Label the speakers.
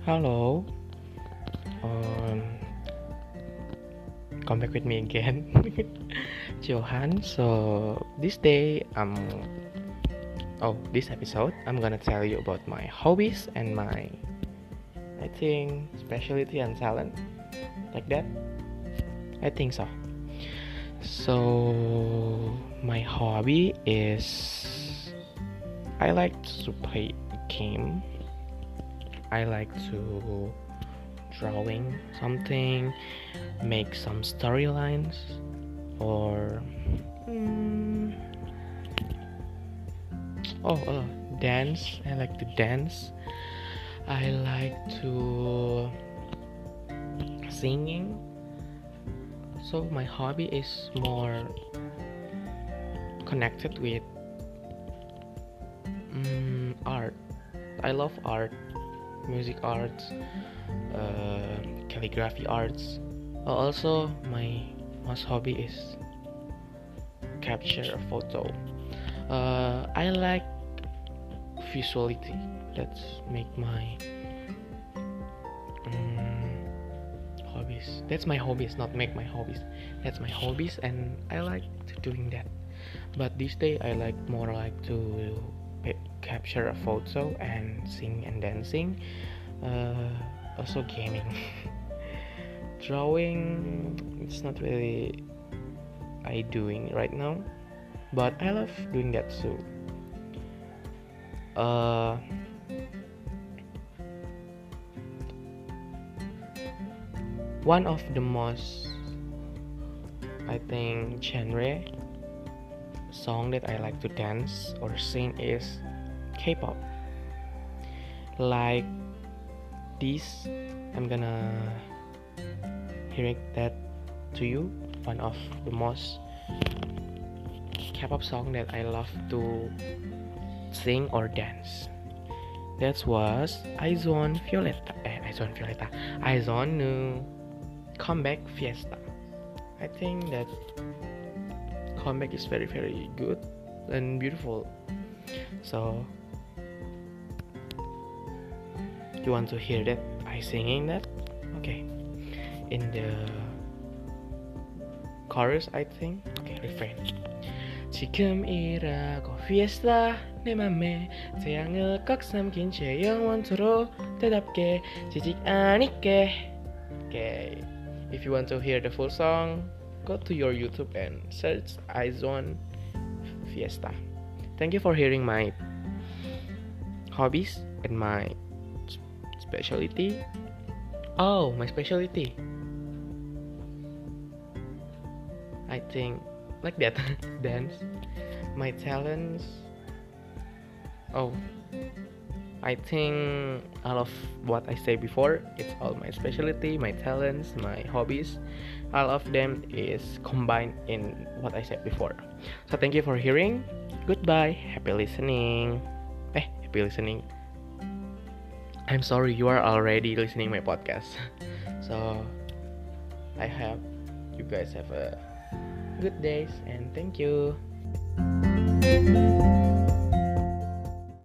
Speaker 1: Hello, um, come back with me again, Johan. So this episode, I'm gonna tell you about my hobbies and my, I think, specialty and talent, like that. I think so. So my hobby is I like to play game. I like to drawing something, make some storylines, or dance. I like to dance. I like to singing. So my hobby is more connected with art. I love art, music arts, calligraphy arts. Also, my most hobby is capture a photo. I like visuality. That's make my hobbies. That's my hobbies, not make my hobbies. That's my hobbies, and I like to doing that. But this day, I more like to capture a photo and sing and dancing. Also gaming. Drawing, it's not really I doing right now, but I love doing that too. One of the most, I think, genre song that I like to dance or sing is K-pop. Like this, I'm gonna hearing that to you. One of the most K-pop song that I love to sing or dance. That was Aizone no Comeback Fiesta. I think that comeback is very very good and beautiful. So you want to hear that I singing that? Okay. In the chorus, I think. Okay, refrain. 지금 이라고 fiesta 내 맘에 태양을 꽉 삼킨 채 영원토록 때답게 지직 않게. Okay, if you want to hear the full song, go to your YouTube and search Aizone Fiesta. Thank you for hearing my hobbies and my specialty. Oh, my specialty, I think like that. Dance. My talents, I think all of what I said before, it's all my specialty, my talents, my hobbies. All of them is combined in what I said before. So thank you for hearing. Goodbye. Happy listening. Happy listening. I'm sorry, you are already listening my podcast. So I hope you guys have a good days and thank you.